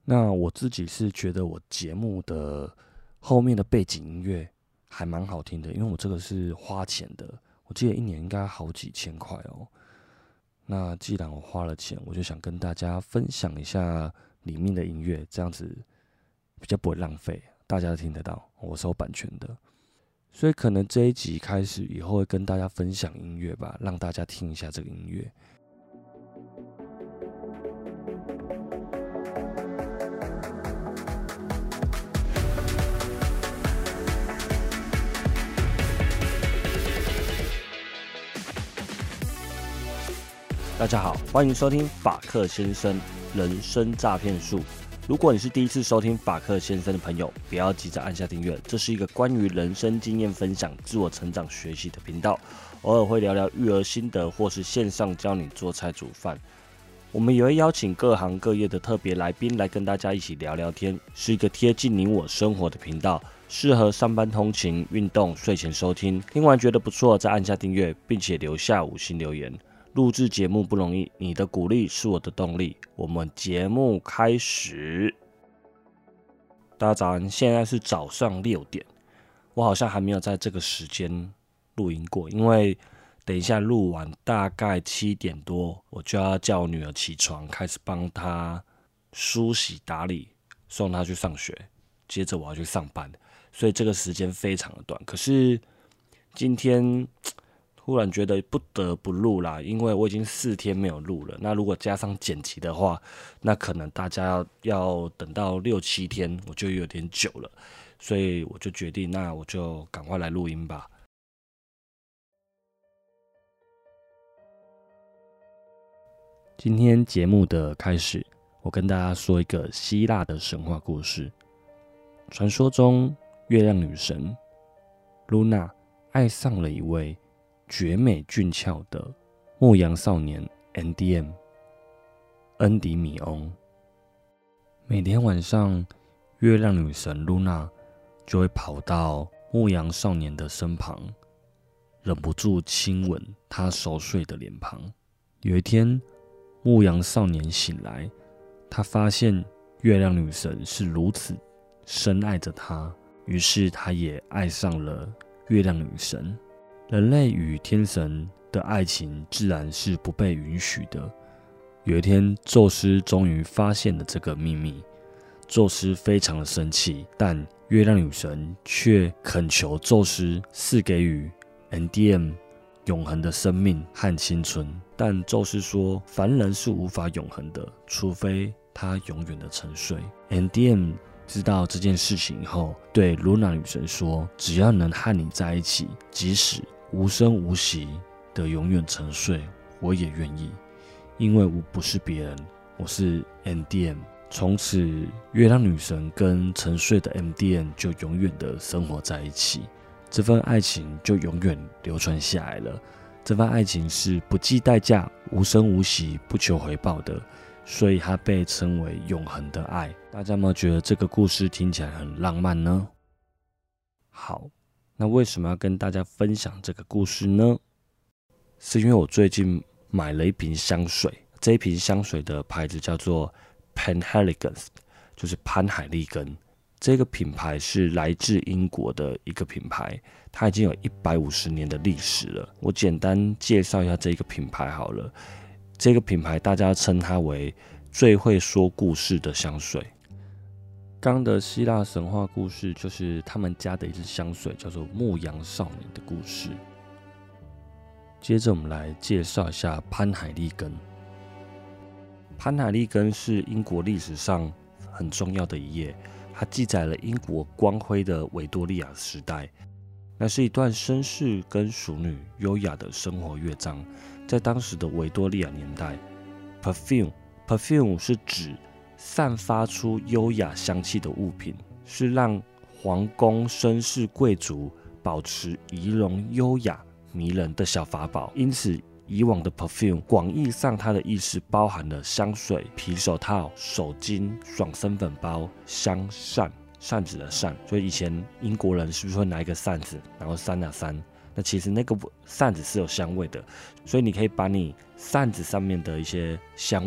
那我自己是觉得我节目的后面的背景音乐还蛮好听的，因为我这个是花钱的，我记得一年应该好几千块哦。那既然我花了钱，我就想跟大家分享一下里面的音乐，这样子比较不会浪费，大家都听得到，我是有版权的。所以可能这一集开始以后会跟大家分享音乐吧，让大家听一下这个音乐。大家好，欢迎收听法克先生人生诈骗术。如果你是第一次收听法克先生的朋友，不要急着按下订阅。这是一个关于人生经验分享、自我成长学习的频道，偶尔会聊聊育儿心得，或是线上教你做菜煮饭。我们也会邀请各行各业的特别来宾来跟大家一起聊聊天，是一个贴近你我生活的频道，适合上班通勤、运动、睡前收听。听完觉得不错，再按下订阅，并且留下5星留言。录制节目不容易，你的鼓励是我的动力。我们节目开始。大家早安，现在是早上6点，我好像还没有在这个时间录音过，因为等一下录完大概7点多，我就要叫我女儿起床，开始帮她梳洗打理，送她去上学，接着我要去上班，所以这个时间非常的短。可是今天突然觉得不得不录啦，因为我已经4天没有录了。那如果加上剪辑的话，那可能大家要等到6、7天，我就有点久了，所以我就决定，那我就赶快来录音吧。今天节目的开始，我跟大家说一个希腊的神话故事。传说中，月亮女神露娜爱上了一位绝美俊俏的牧羊少年 NDM 恩迪米翁。每天晚上，月亮女神露娜就会跑到牧羊少年的身旁，忍不住亲吻他熟睡的脸庞。有一天，牧羊少年醒来，他发现月亮女神是如此深爱着他，于是他也爱上了月亮女神。人类与天神的爱情自然是不被允许的。有一天，宙斯终于发现了这个秘密，宙斯非常的生气，但月亮女神却恳求宙斯赐给予 NDM 永恒的生命和青春。但宙斯说，凡人是无法永恒的，除非他永远的沉睡。NDM 知道这件事情以后，对露娜女神说，只要能和你在一起，即使无声无息的永远沉睡，我也愿意，因为我不是别人，我是 NDM。 从此，月亮女神跟沉睡的 NDM 就永远的生活在一起，这份爱情就永远流传下来了。这份爱情是不计代价、无声无息、不求回报的，所以它被称为永恒的爱。大家有没有觉得这个故事听起来很浪漫呢？好，那为什么要跟大家分享这个故事呢？是因为我最近买了一瓶香水，这一瓶香水的牌子叫做 Penhaligon's， 就是潘海利根。这个品牌是来自英国的一个品牌，它已经有150年的历史了。我简单介绍一下这个品牌好了。这个品牌大家称它为最会说故事的香水。刚的希腊神话故事就是他们家的一支香水，叫做牧羊少年的故事。接着我们来介绍一下潘海利根。潘海利根是英国历史上很重要的一页，它记载了英国光辉的维多利亚时代，那是一段绅士跟淑女优雅的生活乐章。在当时的维多利亚年代， perfume 是指散发出优雅香气的物品，是让皇宫绅士贵族保持仪容优雅迷人的小法宝。因此以往的 perfume 广义上它的意思包含了香水、皮手套、手巾、爽身粉包、香扇，扇子的扇，所以以前英国人是不是会拿一个扇子，然后扇啊扇？那其实那个扇子是有香味的，所以你可以把你扇子上面的一些香味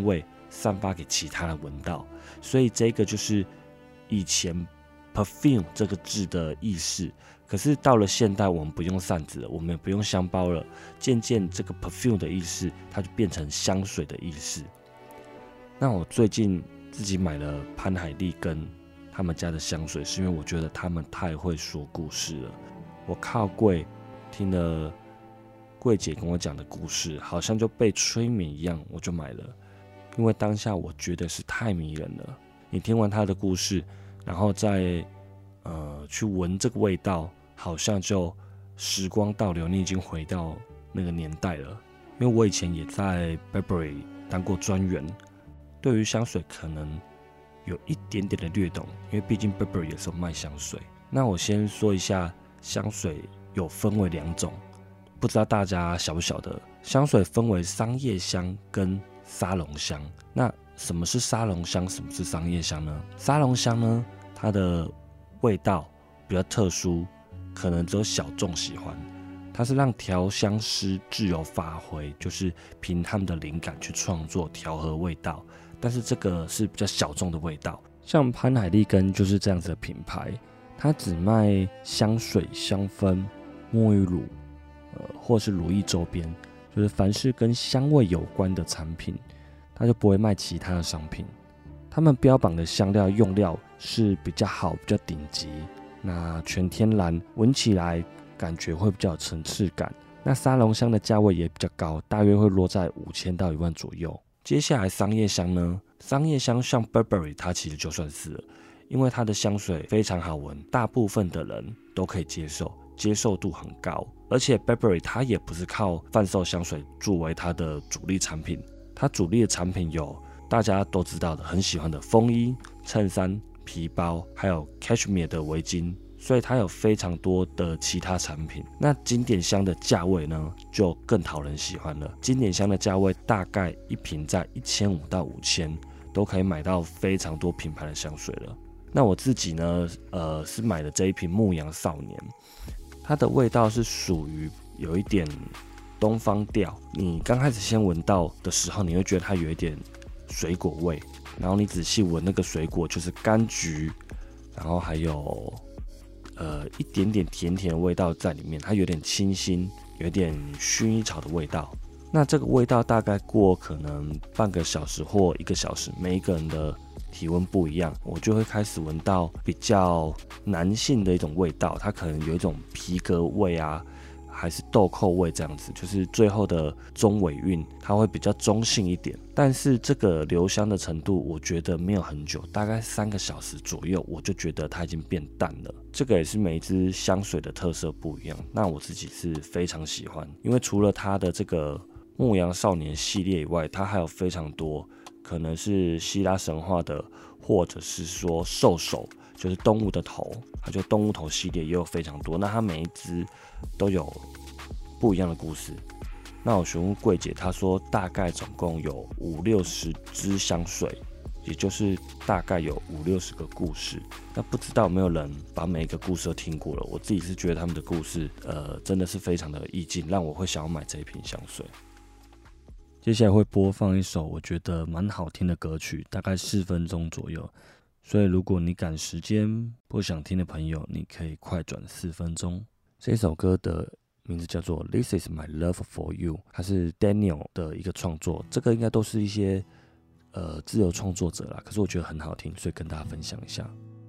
散发给其他人闻到。所以这个就是以前 perfume 这个字的意思。可是到了现代，我们不用扇子了，我们也不用香包了，渐渐这个 perfume 的意思，它就变成香水的意思。那我最近自己买了潘海利根他们家的香水，是因为我觉得他们太会说故事了。我靠柜听了柜姐跟我讲的故事，好像就被催眠一样，我就买了。因为当下我觉得是太迷人了。你听完他的故事，然后再去闻这个味道，好像就时光倒流，你已经回到那个年代了。因为我以前也在 Burberry 当过专员，对于香水可能有一点点的略懂，因为毕竟 Burberry 也是有卖香水。那我先说一下，香水有分为2种，不知道大家晓不晓得？香水分为商业香跟沙龙香。那什么是沙龙香？什么是商业香呢？沙龙香呢，它的味道比较特殊，可能只有小众喜欢。它是让调香师自由发挥，就是凭他们的灵感去创作调和味道。但是这个是比较小众的味道，像潘海利根就是这样子的品牌，它只卖香水、香氛、沐浴乳，或是乳液周边，就是凡是跟香味有关的产品，它就不会卖其他的商品。他们标榜的香料用料是比较好、比较顶级，那全天然，闻起来感觉会比较有层次感。那沙龙香的价位也比较高，大约会落在5000到1万左右。接下来商业香呢？商业香像 Burberry 它其实就算是了，因为它的香水非常好闻，大部分的人都可以接受，接受度很高。而且 Burberry 它也不是靠贩售香水作为它的主力产品，它主力的产品有大家都知道的很喜欢的风衣、衬衫、皮包，还有 Cashmere 的围巾，所以它有非常多的其他产品。那经典香的价位呢，就更讨人喜欢了。经典香的价位大概一瓶在1500到5000，都可以买到非常多品牌的香水了。那我自己呢，是买了这一瓶牧羊少年，它的味道是属于有一点东方调。你刚开始先闻到的时候，你会觉得它有一点水果味，然后你仔细闻那个水果就是柑橘，然后还有一点点甜甜的味道在里面，它有点清新，有点薰衣草的味道。那这个味道大概过可能半个小时或1个小时，每一个人的体温不一样，我就会开始闻到比较男性的一种味道，它可能有一种皮革味啊，还是豆蔻味这样子，就是最后的中尾韵它会比较中性一点。但是这个留香的程度我觉得没有很久，大概3个小时左右，我就觉得它已经变淡了。这个也是每一支香水的特色不一样，那我自己是非常喜欢，因为除了它的这个牧羊少年系列以外，它还有非常多可能是希腊神话的，或者是说兽首，就是动物的头，它就动物头系列也有非常多。那它每一支都有不一样的故事。那我询问柜姐，她说大概总共有50-60支香水，也就是大概有50-60个故事。那不知道有没有人把每一个故事都听过了？我自己是觉得他们的故事，真的是非常的有意境，让我会想要买这一瓶香水。接下来会播放一首我觉得蛮好听的歌曲，大概4分钟左右。所以如果你赶时间不想听的朋友，你可以快转4分钟。这首歌的名字叫做 This is my love for you， 它是 Daniel 的一个创作，这个应该都是一些自由创作者啦，可是我觉得很好听，所以跟大家分享一下。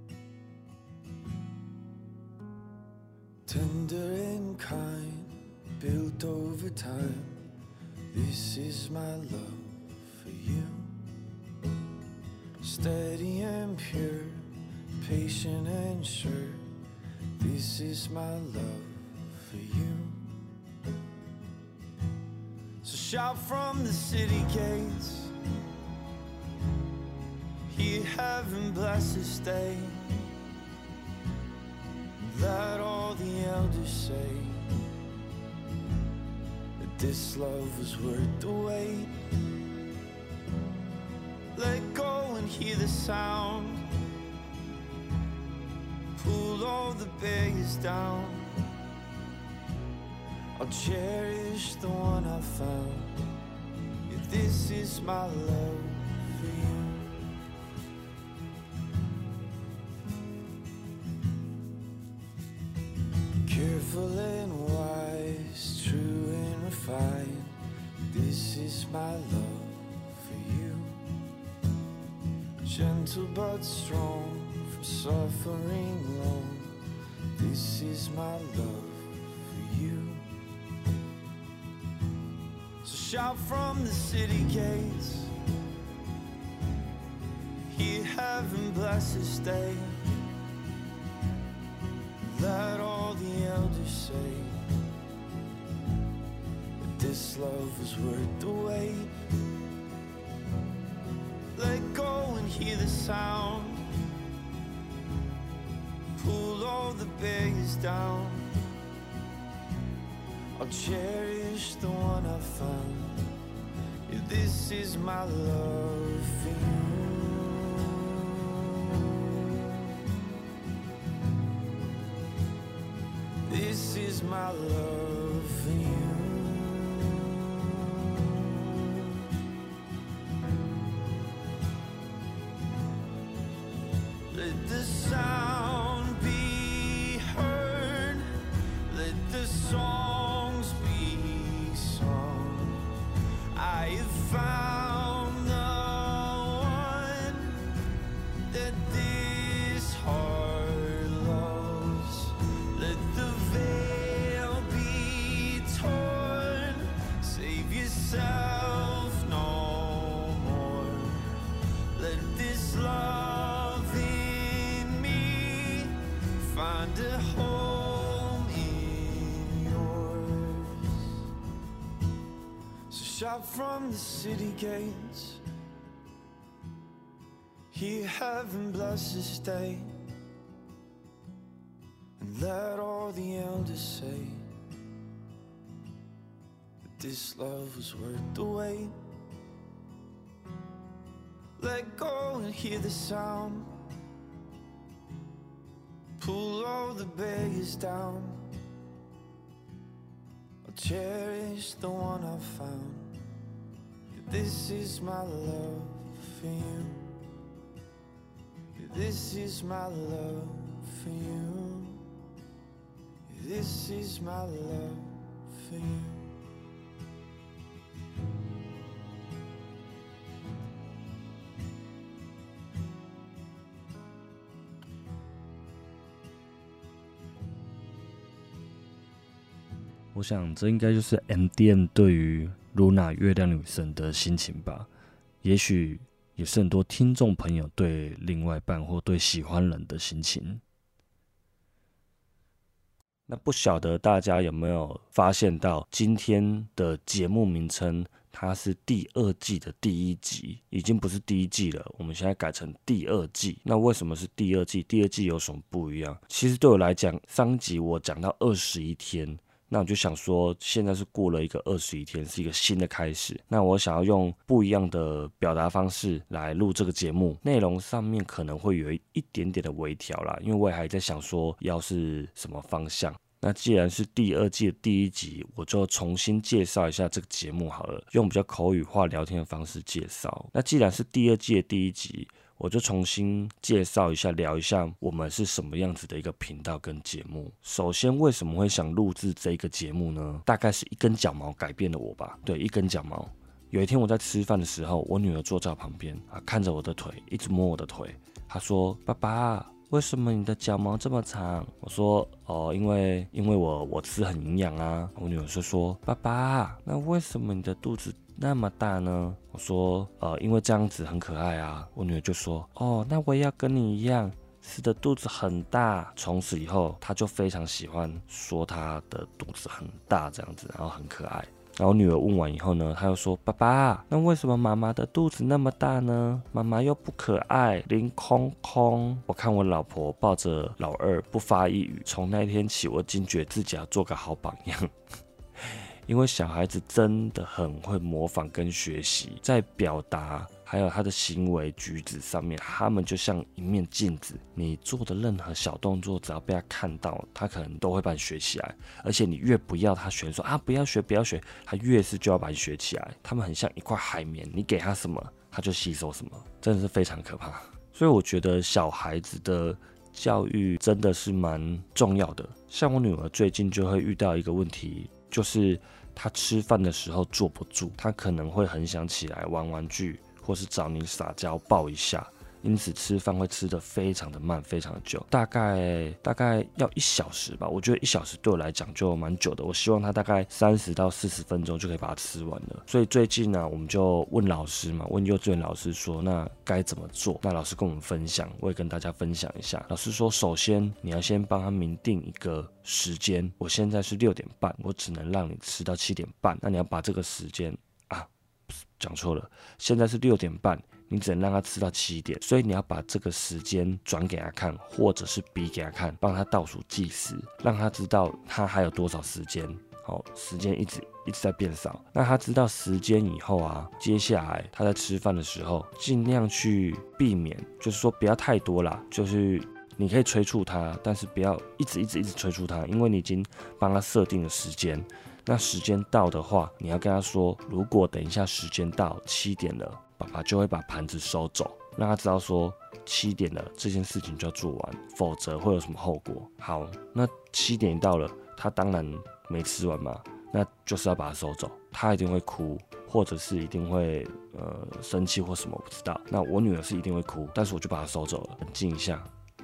Tender and kind, built over time. This is my love for you. Steady and pure, patient and sure. This is my love for you. So shout from the city gates, hear heaven bless this day. Let all the elders say that this love was worth the wait. Let go and hear the sound, pull all the barriers down. I'll cherish the one I found. Yeah, this is my love for you. Careful and wise, true and refined, this is my love for you. Gentle but strong, from suffering long, this is my love for you. So shout from the city gates, hear heaven bless this day. Let all the elders say that this love was worth the wait. Let go and hear the sound, pull all the barriers down. I'll cherish the one I found. Yeah, this is my love for you. This is my love for you. Let the sound be heard, let the songs be sung. I have found the one that this heart loves. Let the veil be torn, save yourself no more. Let this love in me find a home in yours. So shout from the city gates, hear heaven bless this day. And let all the elders say that this love was worth the wait. Let go and hear the sound, pull all the barriers down. I'll cherish the one I found. This is my love for you. This is my love for you. This is my love for you. 我想这应该就是 MDM 对于 Luna 月亮女神的心情吧。也许也是很多听众朋友对另外一半或对喜欢人的心情。那不晓得大家有没有发现到，今天的节目名称它是第2季的第1集，已经不是第1季了，我们现在改成第2季。那为什么是第2季？第2季有什么不一样？其实对我来讲，上集我讲到21天。那我就想说，现在是过了一个21天，是一个新的开始。那我想要用不一样的表达方式来录这个节目，内容上面可能会有一点点的微调啦，因为我也还在想说要是什么方向。那既然是第2季的第1集，我就重新介绍一下这个节目好了，用比较口语化聊天的方式介绍。那既然是第2季的第1集，我就重新介绍一下，聊一下我们是什么样子的一个频道跟节目。首先，为什么会想录制这个节目呢？大概是一根脚毛改变了我吧。对，一根脚毛。有一天我在吃饭的时候，我女儿坐在我旁边看着我的腿，一直摸我的腿。她说：“爸爸，为什么你的脚毛这么长？”我说：“哦，因为我吃很营养啊。”我女儿就说：“爸爸，那为什么你的肚子那么大呢？”我说：“因为这样子很可爱啊。”我女儿就说：“哦，那我也要跟你一样，吃的肚子很大。”从此以后，她就非常喜欢说她的肚子很大这样子，然后很可爱。然后女儿问完以后呢，她又说：“爸爸，那为什么妈妈的肚子那么大呢？妈妈又不可爱，零空空。”我看我老婆抱着老二不发一语，从那天起，我惊觉自己要做个好榜样。因为小孩子真的很会模仿跟学习，在表达还有他的行为举止上面，他们就像一面镜子，你做的任何小动作，只要被他看到，他可能都会把你学起来。而且你越不要他学，说不要学不要学，他越是就要把你学起来。他们很像一块海绵，你给他什么， 他就吸收什么，真的是非常可怕。所以我觉得小孩子的教育真的是蛮重要的。像我女儿最近就会遇到一个问题，就是她吃饭的时候坐不住，她可能会很想起来玩玩具，或是找你撒娇抱一下。因此吃饭会吃得非常的慢，非常的久，大概要1小时吧。我觉得1小时对我来讲就蛮久的，我希望他大概30到40分钟就可以把它吃完了。所以最近呢，我们就问老师嘛，问幼稚园老师说，那该怎么做？那老师跟我们分享，我也跟大家分享一下。老师说，首先你要先帮他明定一个时间，我现在是6点半，我只能让你吃到7点半，那你要把这个时间讲错了，现在是6点半。你只能让他吃到7点，所以你要把这个时间转给他看，或者是比给他看，帮他倒数计时，让他知道他还有多少时间。好，时间一直在变少。那他知道时间以后啊，接下来他在吃饭的时候，尽量去避免，就是说不要太多啦，就是你可以催促他，但是不要一直催促他，因为你已经帮他设定了时间。那时间到的话，你要跟他说，如果等一下时间到7点了。爸爸就会把盘子收走，让他知道说7点了，这件事情就要做完，否则会有什么后果。好，那7点到了，他当然没吃完嘛，那就是要把它收走。他一定会哭，或者是一定会生气或什么，我不知道。那我女儿是一定会哭，但是我就把它收走了，冷静一下。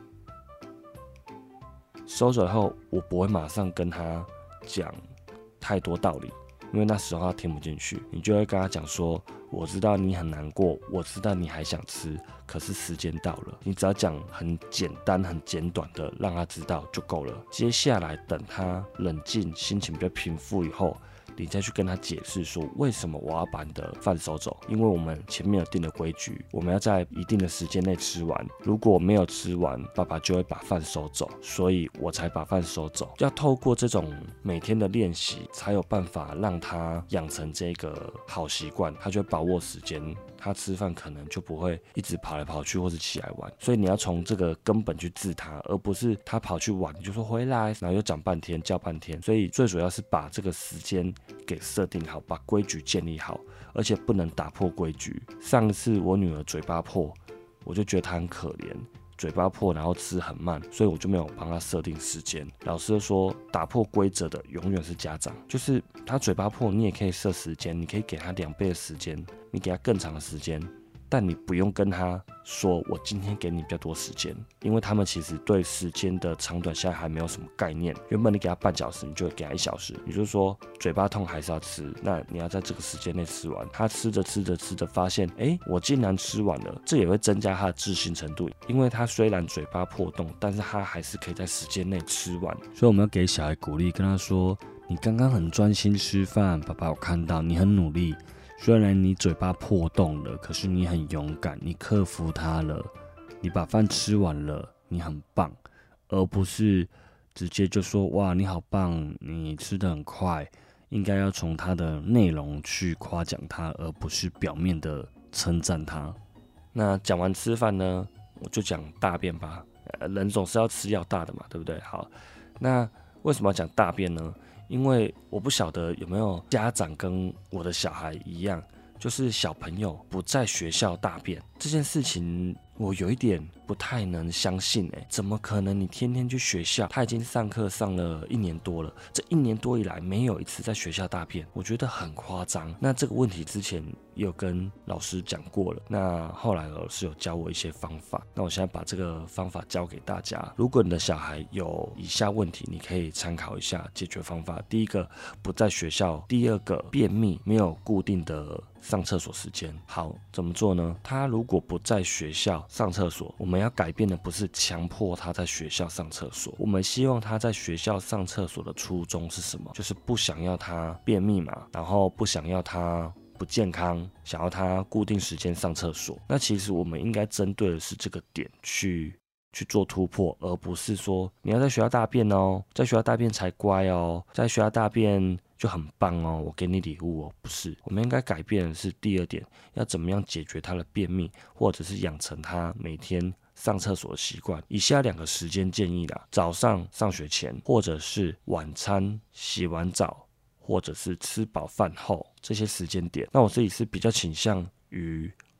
收走以后，我不会马上跟他讲太多道理。因为那时候他听不进去，你就会跟他讲说，我知道你很难过，我知道你还想吃，可是时间到了。你只要讲很简单很简短的让他知道就够了。接下来等他冷静，心情比较平复以后，你再去跟他解释说，为什么我要把你的饭收走。因为我们前面有定的规矩，我们要在一定的时间内吃完，如果没有吃完，爸爸就会把饭收走，所以我才把饭收走。要透过这种每天的练习，才有办法让他养成这个好习惯，他就会把握时间，他吃饭可能就不会一直跑来跑去或是起来玩。所以你要从这个根本去治他，而不是他跑去玩你就说回来，然后又讲半天叫半天。所以最主要是把这个时间给设定好，把规矩建立好，而且不能打破规矩。上次我女儿嘴巴破，我就觉得她很可怜，嘴巴破然后吃很慢，所以我就没有帮她设定时间。老师就说，打破规则的永远是家长，就是她嘴巴破，你也可以设时间，你可以给她2倍的时间，你给她更长的时间，但你不用跟她说我今天给你比较多时间，因为他们其实对时间的长短现在还没有什么概念。原本你给他半小时，你就会给他1小时，也就是说嘴巴痛还是要吃，那你要在这个时间内吃完。他吃着发现，我竟然吃完了，这也会增加他的自信程度，因为他虽然嘴巴破洞，但是他还是可以在时间内吃完。 所以我们要给小孩鼓励，跟他说，你刚刚很专心吃饭，爸爸有看到你很努力，虽然你嘴巴破洞了，可是你很勇敢，你克服它了，你把饭吃完了，你很棒，而不是直接就说哇你好棒，你吃得很快。应该要从它的内容去夸奖它，而不是表面的称赞它。 那讲完吃饭呢，我就讲大便吧。人总是要吃要大的嘛，对不对？好，那为什么要讲大便呢？因为我不晓得有没有家长跟我的小孩一样，就是小朋友不在学校大便这件事情，我有一点不太能相信。怎么可能你天天去学校，他已经上课上了1年多了，这1年多以来没有一次在学校大便，我觉得很夸张。那这个问题之前也有跟老师讲过了，那后来老师有教我一些方法，那我现在把这个方法教给大家。如果你的小孩有以下问题，你可以参考一下解决方法。第一个，不在学校；第二个，便秘，没有固定的上厕所时间。好，怎么做呢？他如果不在学校上厕所，我们要改变的不是强迫他在学校上厕所，我们希望他在学校上厕所的初衷是什么？就是不想要他便秘嘛，然后不想要他不健康，想要他固定时间上厕所。那其实我们应该针对的是这个点去做突破，而不是说你要在学校大便哦，在学校大便才乖哦，在学校大便就很棒哦，我给你礼物哦。不是，我们应该改变的是第二点，要怎么样解决他的便秘，或者是养成他每天上厕所的习惯。以下2个时间建议啦：早上上学前，或者是晚餐洗完澡，或者是吃饱饭后，这些时间点。那我自己是比较倾向于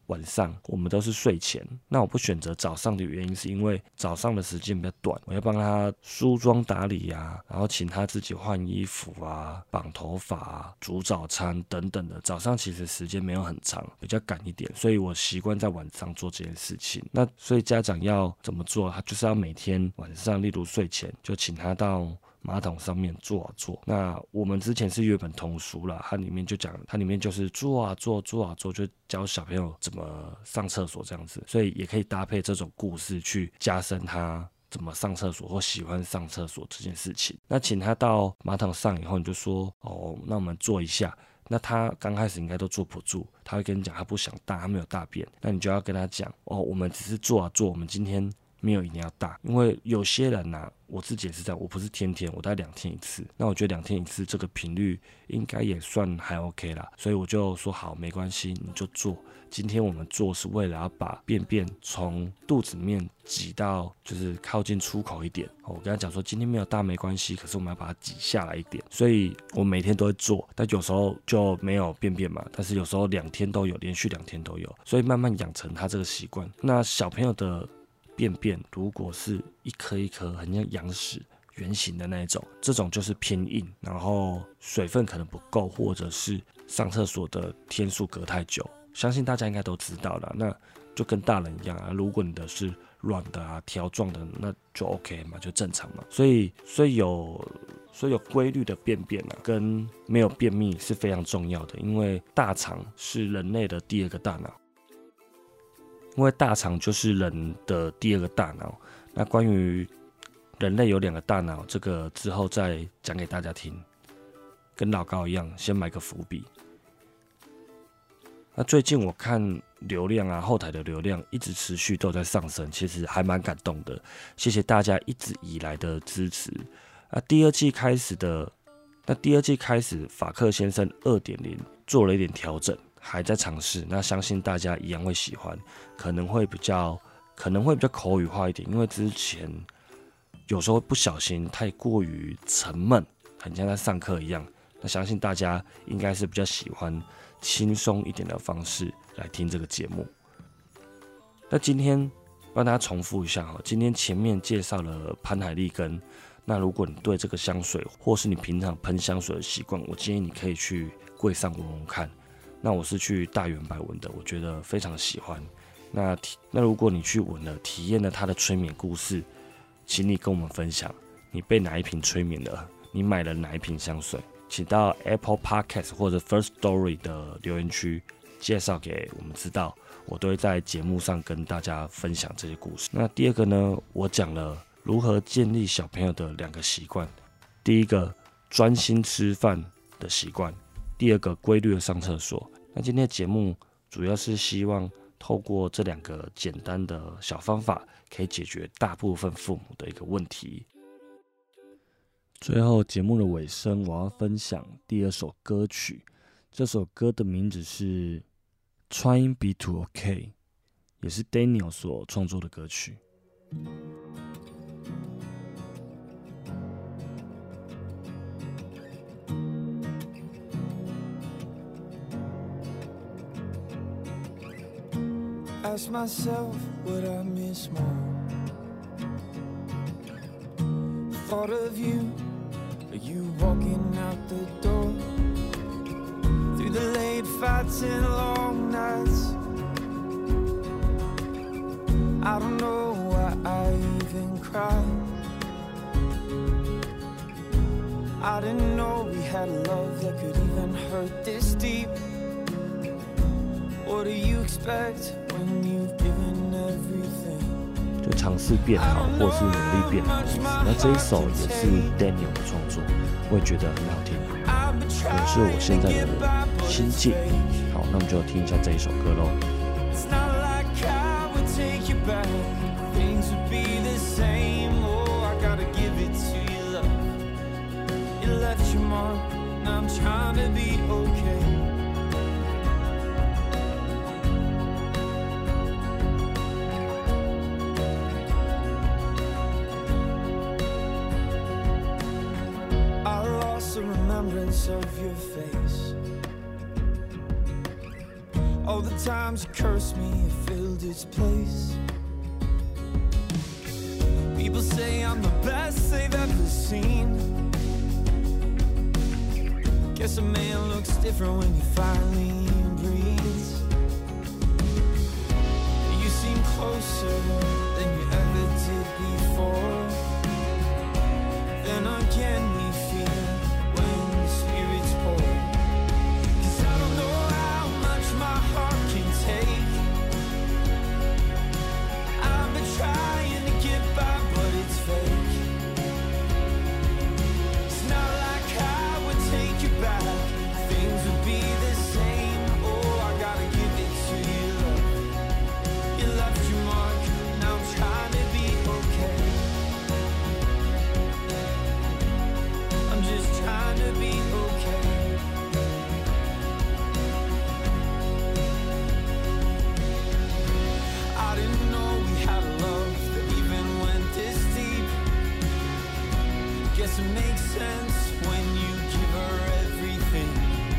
晚上，我们都是睡前。那我不选择早上的原因是因为早上的时间比较短，我要帮他梳妆打理啊，然后请他自己换衣服啊、绑头发啊、煮早餐等等的。早上其实时间没有很长，比较赶一点，所以我习惯在晚上做这件事情。那所以家长要怎么做？他就是要每天晚上，例如睡前就请他到马桶上面坐啊坐。那我们之前是阅本童书啦，它里面就讲，它里面就是坐啊坐，坐啊坐，就教小朋友怎么上厕所这样子。所以也可以搭配这种故事去加深他怎么上厕所或喜欢上厕所这件事情。那请他到马桶上以后，你就说哦，那我们坐一下。那他刚开始应该都坐不住，他会跟你讲他不想大，他没有大便。那你就要跟他讲哦，我们只是坐啊坐，我们今天没有一定要大。因为有些人啊，我自己也是这样，我不是天天，我大概2天一次。那我觉得2天一次这个频率应该也算还 OK 啦，所以我就说好，没关系，你就做。今天我们做是为了要把便便从肚子里面挤到就是靠近出口一点。我跟他讲说今天没有大没关系，可是我们要把它挤下来一点。所以我每天都会做，但有时候就没有便便嘛，但是有时候2天都有，连续2天都有，所以慢慢养成他这个习惯。那小朋友的便便如果是一颗一颗很像羊屎圆形的那一种，这种就是偏硬，然后水分可能不够，或者是上厕所的天数隔太久，相信大家应该都知道了。那就跟大人一样啊，如果你的是软的啊、条状的，那就 OK 嘛，就正常嘛。所以有规律的便便啊，跟没有便秘是非常重要的，因为大肠是人类的第2个大脑。因为大肠就是人的第2个大脑。那关于人类有2个大脑，这个之后再讲给大家听，跟老高一样，先埋个伏笔。那最近我看流量啊，后台的流量一直持续都在上升，其实还蛮感动的，谢谢大家一直以来的支持。第二季开始，法克先生 2.0 做了一点调整。还在尝试，那相信大家一样会喜欢，可能会比较口语化一点，因为之前有时候不小心太过于沉闷，很像在上课一样。那相信大家应该是比较喜欢轻松一点的方式来听这个节目。那今天帮大家重复一下，今天前面介绍了潘海利根。那如果你对这个香水，或是你平常喷香水的习惯，我建议你可以去柜上闻闻看。那我是去大圆柏闻的，我觉得非常喜欢。那如果你去闻了，体验了它的催眠故事，请你跟我们分享，你被哪一瓶催眠了？你买了哪一瓶香水？请到 Apple Podcast 或者 First Story 的留言区介绍给我们知道，我都会在节目上跟大家分享这些故事。那第2个呢，我讲了如何建立小朋友的2个习惯。第1个，专心吃饭的习惯。第2个，规律的上厕所。那今天的节目主要是希望透过这2个简单的小方法，可以解决大部分父母的一个问题。最后节目的尾声，我要分享第2首歌曲。这首歌的名字是 Trying Be To OK， 也是 Daniel 所创作的歌曲。 Ask myself what I miss more. Thought of you walking out the door. Through the late fights and long nights, I don't know why I even cried. I didn't know we had love that could even hurt this deep. What do you expect when you've given everything? 就尝试变好，或是努力变好的意思。那这一首也是 Daniel 的创作，我也觉得很好听，也是我现在的心境。好，那我们就听一下这一首歌咯。 It's not like I would take you back. Things would be the same. Oh, I gotta give it to you, love. You left your mark, and I'm trying to be okay. Of your face, All the times you cursed me, it filled its place. People say I'm the best they've ever seen. Guess a man looks different when he finally breathes. You seem closer than you ever did before. Then again we feel when the spirits pour. 'Cause I don't know how much my heart can take. I've been trying to get by, but it's fake. It's not like I would take you back. Things would be the same. Oh, I gotta give it to you, love. You left your mark, now I'm trying to be okay. I'm just trying to be okay. I didn't know we had a love that even went this deep. Guess it makes sense when you give her everything.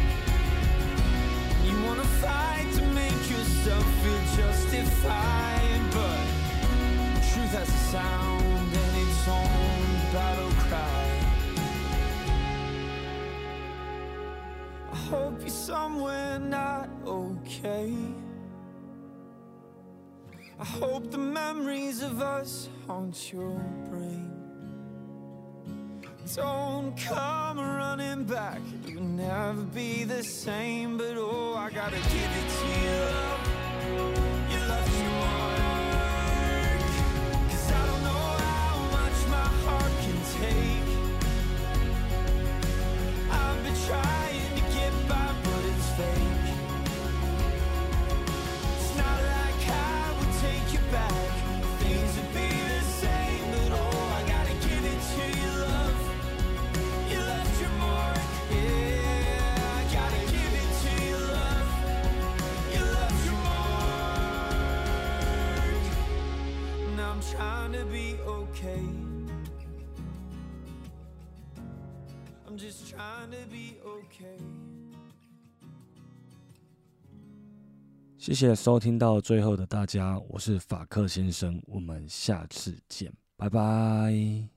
You wanna fight to make yourself feel justified, but truth has a sound and its own battle cry. I hope you're somewhere not okay. I hope the memories of us haunt your brain. Don't come running back, it will never be the same. But oh, I gotta give it to you, love. You left your mark. 'Cause I don't know how much my heart can take. I've been trying to get by, but it's fake. It's not like I would take you back. Things would be the same, but oh, I gotta give it to you, love. You left your mark, yeah. I gotta give it to you, love. You left your mark. Now I'm trying to be okay. I'm just trying to be okay. 谢谢收听到最后的大家，我是法克先生，我们下次见，拜拜。